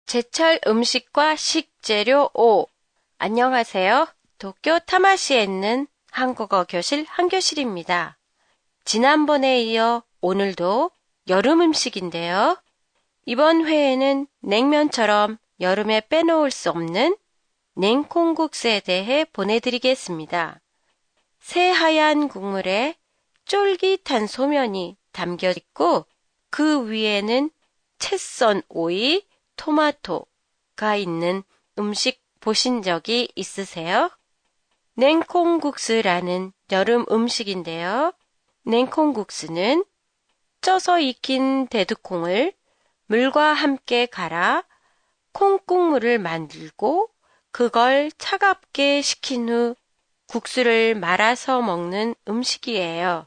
제철 음식과 식재료 5. 안녕하세요. 도쿄 타마시에 있는 한국어 교실 한교실입니다. 지난번에 이어 오늘도 여름 음식인데요. 이번 회에는 냉면처럼 여름에 빼놓을 수 없는 냉콩국수에 대해 보내드리겠습니다. 새하얀 국물에 쫄깃한 소면이 담겨 있고 그 위에는 채 썬 오이, 토마토가 있는 음식 보신 적이 있으세요? 냉콩국수라는 여름 음식인데요. 냉콩국수는 쪄서 익힌 대두콩을 물과 함께 갈아 콩국물을 만들고 그걸 차갑게 식힌 후 국수를 말아서 먹는 음식이에요.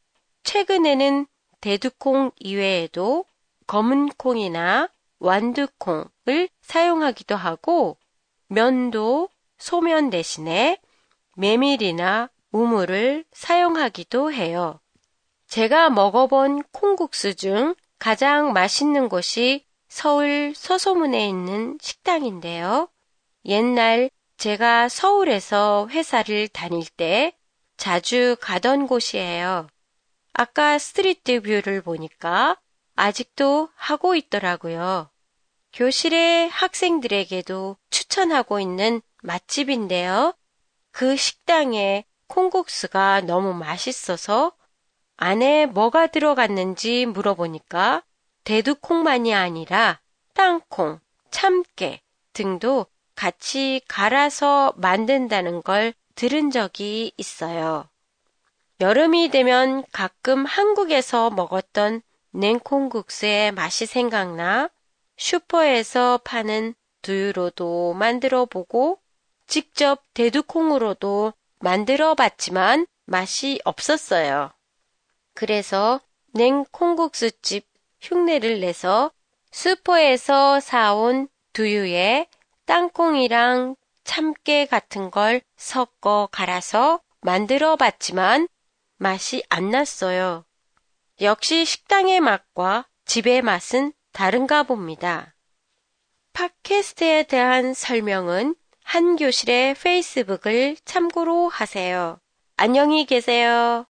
최근에는 대두콩 이외에도 검은 콩이나 완두콩을 사용하기도 하고 면도 소면 대신에 메밀이나 우물을 사용하기도 해요. 제가 먹어본 콩국수 중 가장 맛있는 곳이 서울 서소문에 있는 식당인데요. 옛날 제가 서울에서 회사를 다닐 때 자주 가던 곳이에요. 아까 스트리트 뷰를 보니까 아직도 하고 있더라고요. 교실의 학생들에게도 추천하고 있는 맛집인데요. 그 식당에 콩국수가 너무 맛있어서 안에 뭐가 들어갔는지 물어보니까 대두콩만이 아니라 땅콩, 참깨 등도 같이 갈아서 만든다는 걸 들은 적이 있어요. 여름이 되면 가끔 한국에서 먹었던 냉콩국수의 맛이 생각나 슈퍼에서 파는 두유로도 만들어 보고 직접 대두콩으로도 만들어 봤지만 맛이 없었어요. 그래서 냉콩국수집 흉내를 내서 슈퍼에서 사온 두유에 땅콩이랑 참깨 같은 걸 섞어 갈아서 만들어 봤지만 맛이 안 났어요. 역시 식당의 맛과 집의 맛은 다른가 봅니다. 팟캐스트에 대한 설명은 한교실의 페이스북을 참고로 하세요. 안녕히 계세요.